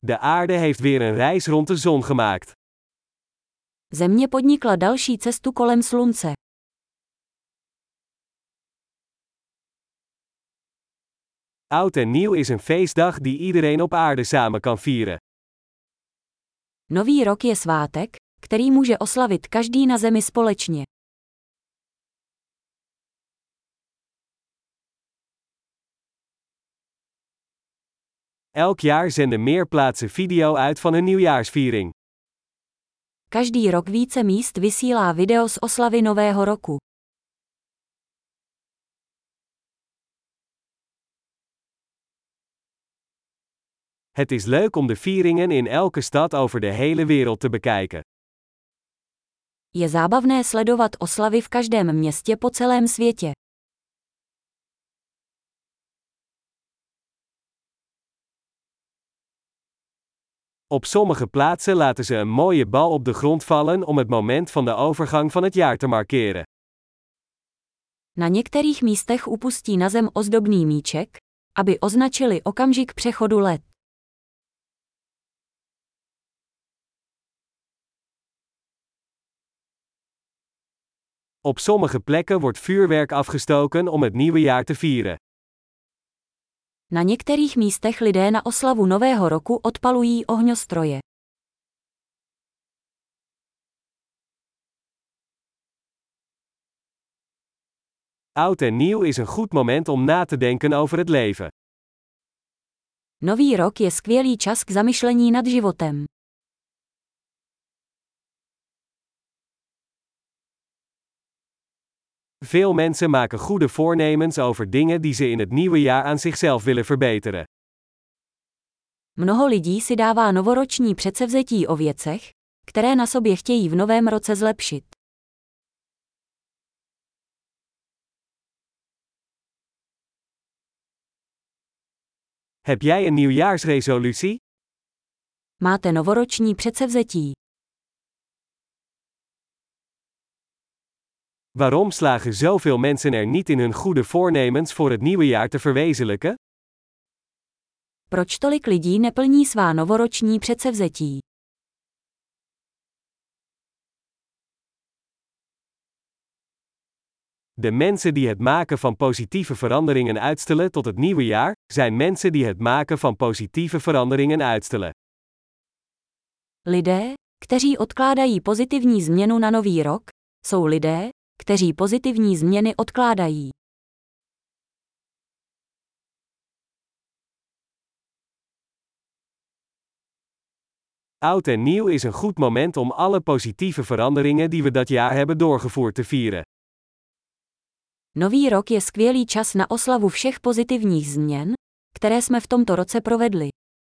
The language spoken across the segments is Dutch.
De aarde heeft weer een reis rond de zon gemaakt. Země podnikla další cestu kolem slunce. Oud en nieuw is een feestdag die iedereen op aarde samen kan vieren. Nový rok je svátek, který může oslavit každý na zemi společně. Elk jaar zenden meer plaatsen video uit van hun nieuwjaarsviering. Každý rok více míst vysílá video z oslavy Nového roku. Het is leuk om de vieringen in elke stad over de hele wereld te bekijken. Je zábavné sledovat oslavy v každém městě po celém světě. Op sommige plaatsen laten ze een mooie bal op de grond vallen om het moment van de overgang van het jaar te markeren. Na některých místech upustí na zem ozdobný míček, aby označili okamžik přechodu let. Op sommige plekken wordt vuurwerk afgestoken om het nieuwe jaar te vieren. Na některých místech lidé na oslavu Nového roku odpalují ohňostroje. Oud en nieuw is een goed moment om na te denken over het leven. Nový rok je skvělý čas k zamyšlení nad životem. Veel mensen maken goede voornemens over dingen die ze in het nieuwe jaar aan zichzelf willen verbeteren. Mnoho lidí si dává novoroční předsevzetí o věcech, které na sobě chtějí v novém roce zlepšit. Heb jij een nieuwjaarsresolutie? Máte novoroční předsevzetí. Waarom slagen zoveel mensen er niet in hun goede voornemens voor het nieuwe jaar te verwezenlijken? Proč tolik lidí neplní svá novoroční předsevzetí? De mensen die het maken van positieve veranderingen uitstellen tot het nieuwe jaar, zijn mensen die het maken van positieve veranderingen uitstellen. Lidé, kteří odkládají pozitivní změnu na nový rok, jsou lidé, kteří pozitivní změny odkládají. Oud en nieuw is een goed moment om alle positieve veranderingen die we dat jaar hebben doorgevoerd te vieren. Nový rok je skvělý čas na oslavu všech pozitivních změn, které jsme v tomto roce provedli.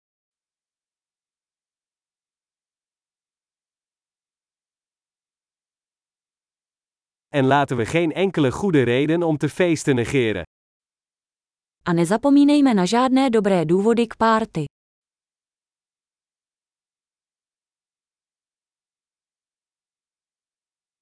En laten we geen enkele goede reden om te feesten negeren. A nezapomínejme na žádné dobré důvody k párty.